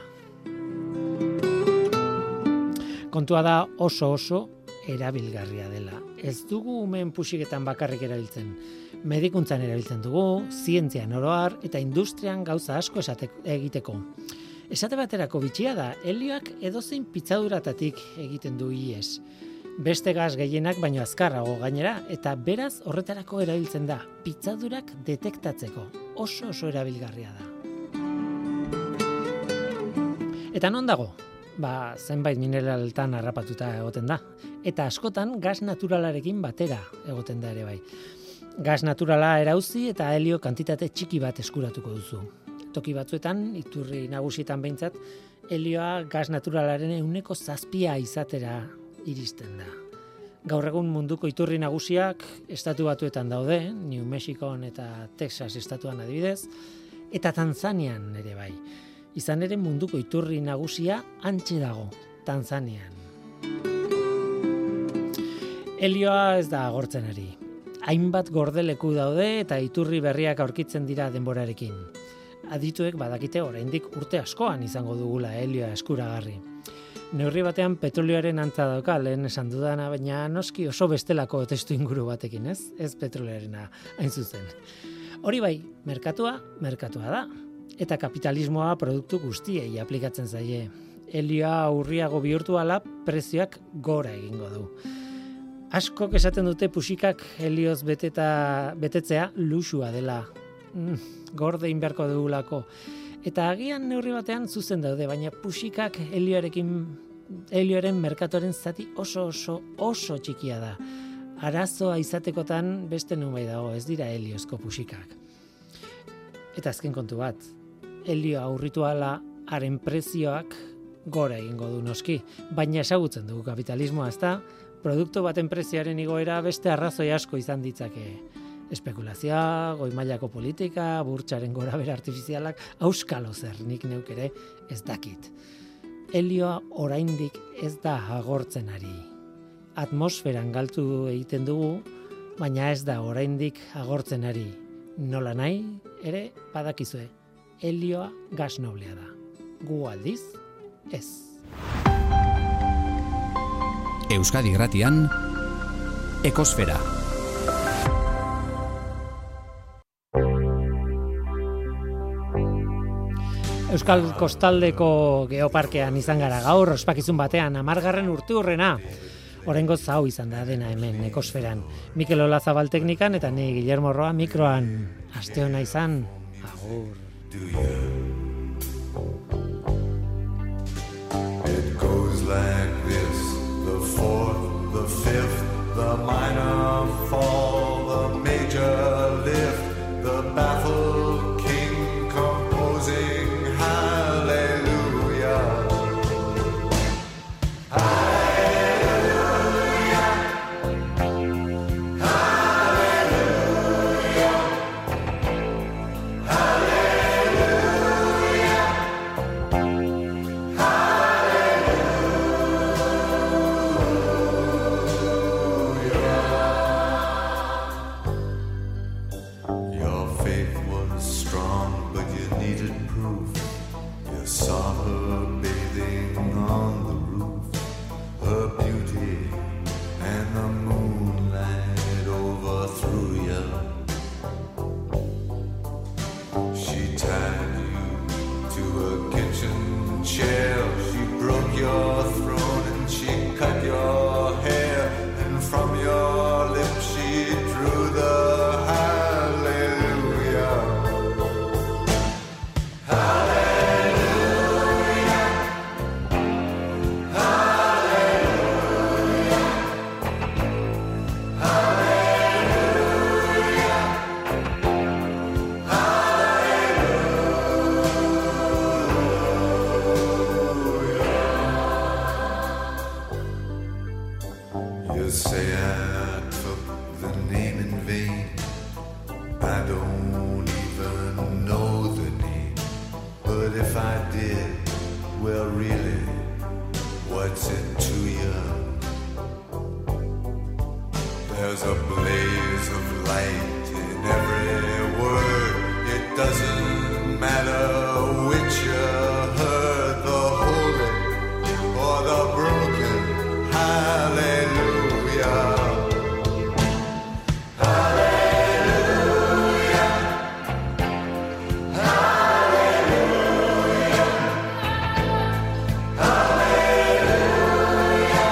Kontua da oso oso erabilgarria dela. Ez dugu umeen puxiketan bakarrik erabiltzen. Medikuntzan erabiltzen dugu, zientzian oro har eta industrian gauza asko esate, egiteko. Esate baterako bitxia da, helioak edozein pitzaduratatik egiten du ihes. Beste gas gehienak baino azkarrago gainera, eta beraz horretarako erabiltzen da, pitzadurak detektatzeko. Oso oso erabilgarria da. Eta non dago? Ba, zenbait mineraltan harrapatuta egoten da. Eta askotan gas naturalarekin batera egoten da ere bai. Gas naturala erauzi eta helio kantitate txiki bat eskuratuko duzu. Toki batzuetan, iturri nagusietan behintzat, helioa gas naturalaren ehuneko zazpia izatera iristen da. Gaur egun munduko iturri nagusiak estatu batuetan daude, New Mexikon eta Texas estatuan adibidez, eta Tanzanian ere bai. Izan ere munduko iturri nagusia hantxe dago, Tanzanian. Helioa ez da agortzen ari. Hainbat gordeleku daude eta iturri berriak aurkitzen dira denborarekin. Adituek badakite oraindik urte askoan izango dugula helioa eskuragarri. Neurri batean petrolioaren antza dauka lehen esan dudana, baina noski oso bestelako testu inguru batekin, ez? Ez petrolioarena hain zuzen. Hori bai, merkatua, merkatua da. Eta kapitalismoa produktu guztiei aplikatzen zaie. Helioa urriago bihurtu ala prezioak gora egingo du. Askok esaten dute puxikak helioz beteta, betetzea luxua dela. Mm, gorde inberko dugulako. Eta agian neurri batean zuzen daude, baina puxikak helioarekin helioaren merkatoren zati oso oso oso txikia da. Arazoa izatekotan beste nunbait dago, ez dira heliozko puxikak. Eta azken kontu bat, helioa aurritu ala haren prezioak gora egingo du noski, baina ezagutzen dugu kapitalismoa, ezta? Produktu baten prezioaren igoera beste arrazoi asko izan ditzake. Espekulazioa, goi mailako politika, burtsaren gorabehera artifizialak, auskalo zer, nik neuk ere ez dakit. Helioa oraindik ez da agortzen ari. Atmosferan galtu egiten dugu, baina ez da oraindik agortzen ari. Nola nahi, ere badakizue, helioa gas noblea da. Gu aldiz, ez. Euskadi Irratian, Ekosfera. Euskal Kostaldeko Geoparkean izan gara gaur, ospakizun batean, amargarren urteurrena. Oraingoz hau izan da dena hemen Ekosferan. Mikel Olazabal teknikan eta ni Guillermo Roa mikroan. Aste ona izan, agur. It goes like this, the fourth, the fifth, the minor fall, the major lift, the baffled king composing hallelujah. Hallelujah. Hallelujah. Your faith was strong, but you needed proof. You saw her bathing on the roof, her beauty and the moonlight overthrew you. She tied you to a kitchen chair, she broke your throne and she cut your hair, and from your lips she drew the hallelujah. Hallelujah. Hallelujah. Hallelujah. You say I took the name in vain. I don't even know the name. But if I did, well really, what's it to you? There's a blaze of light in every word. It doesn't matter which you heard, the holy or the broken. Hallelujah. Hallelujah. Hallelujah. Hallelujah.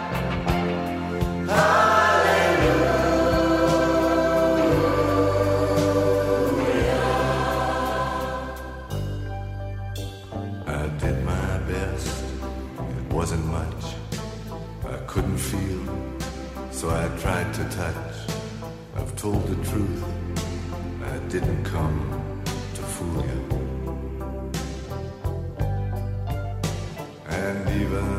Hallelujah. I did my best. It wasn't much. I couldn't feel, so I tried to touch. I've told the truth. I didn't come to fool you. And even